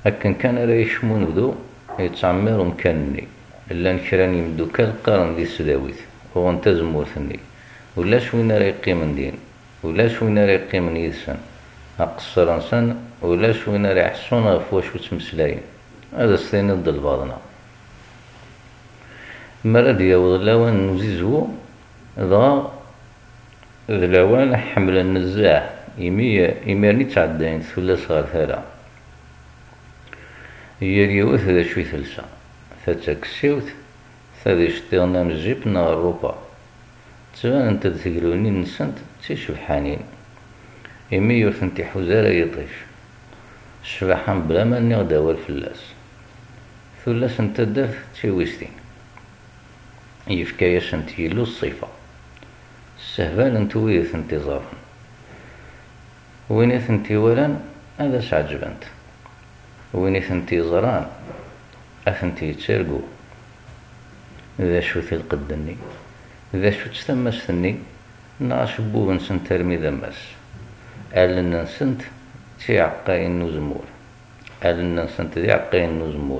أكن كان راه يشمون بدو يتعمر مكانني لان كرا يمدوكال قارن دي السداويت وغنتا زمورتني ولاش وين راه يقيم دين ولاش وين راه يقيم يدسن أقصر إنسان ولاش وين راه يحسون غف واش تمسلاين هذا ستين ضد الباطنة مراد ياوض لاوان نزيزو دغا ذ لاوان حمل النزاع إميرني تعدين ثلاث غير ثلاثة هي اليوث ذا شوي ثلثة تاكسيوت ثادي شتيغنا من الجيب نا الروبا تبان انت تقلوني نسنت تيشبحانين إمي يوثنتي حوزارة يطيش شبحان بلا ما نغدا والفلاس ثلاث انت داف تيويستين يفكاياش انت يلو الصيفة السهبان انتو ويث انتظارا وينيث انتوالان هذا سعجبنت وينيث انتظاران أثنتي يتسرقو ذا شو في القدني ذا شو تستمسني ناش بوب نسنت ترمي ذمس ألن نسنت تي عقاين نزمور ألن نسنت ذي عقاين نزمور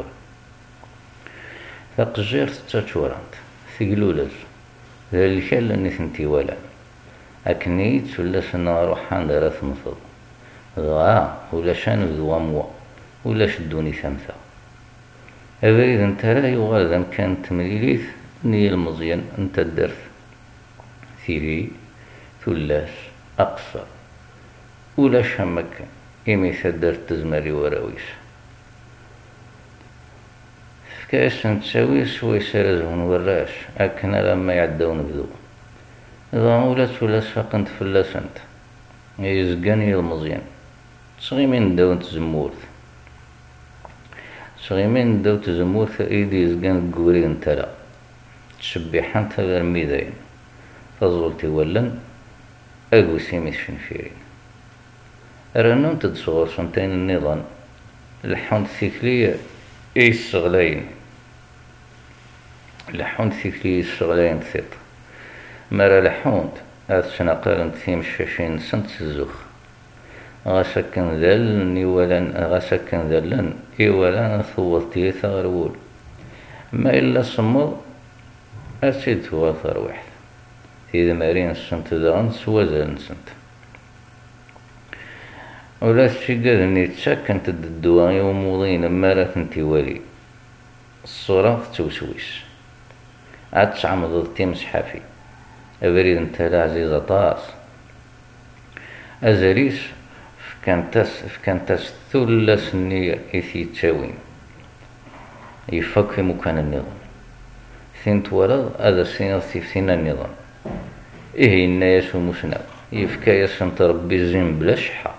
فقجير تتشورانت ثقلولز ذا الكال اللي ثنتي ولا أكنيت ولا سنا روحان دارا ثمثض ذا ولا شان ذو موا ولا شدوني ثمثة أبريد انت لا يغال ذا كانت مليليث ني المزيان انت الدرث ثيري ثلاث أقصر ولا شمك إمي ثدرت تزمري وراويس فكاس نتساويس ويسرزهن وراش أكنا لما يعدون بدو إذا ولات ولا ساقنت فلاسنت يزقاني المزيان تصغي من داون تزمورت صغيمين داو تزمور ايدي يزقان قوري انتلا تشبيحان تغير ميداين تظلتي ولن اقو سيمي شنفيرين رانون تدصغر سنتين النظام لحون ثيكلية اي الصغلين لحون ثيكلية الصغلين ثيط مرا لحون هاد سنقارن ثيم الشاشين سنت الزخ غاسكن ذلن إيوالان غاسكن ذلن إيوالان ثوضتي ثغرول ما إلا صمد أسيد ثواثر واحد إذا مارين السنت دغن سوازل نسنت ولا تشيقاد اني تساكنت الدواء وموضين مارا ثنتي والي الصورة توسويس عاد تعمض تيمس حافي أبريد انت لا عزيزة طاس أزاليس فكانتاس ثلث النية إثي تاوين يفك مكان النظام ثنت ورد هذا سينا ثينا النظام إيه الناس ومسنا يفكايس انت ربي الزين بلا شحة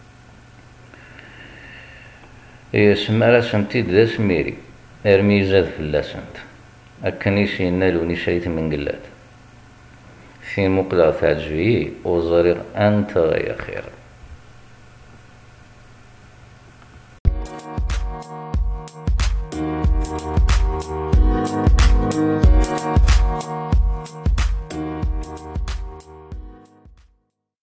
إيه سمارا سمتيد ذا سميري ارمي زاد فلاسنت أكنيسي ينالوني شريت من قلات في مقلع تعجبي وزرير أنت يا خير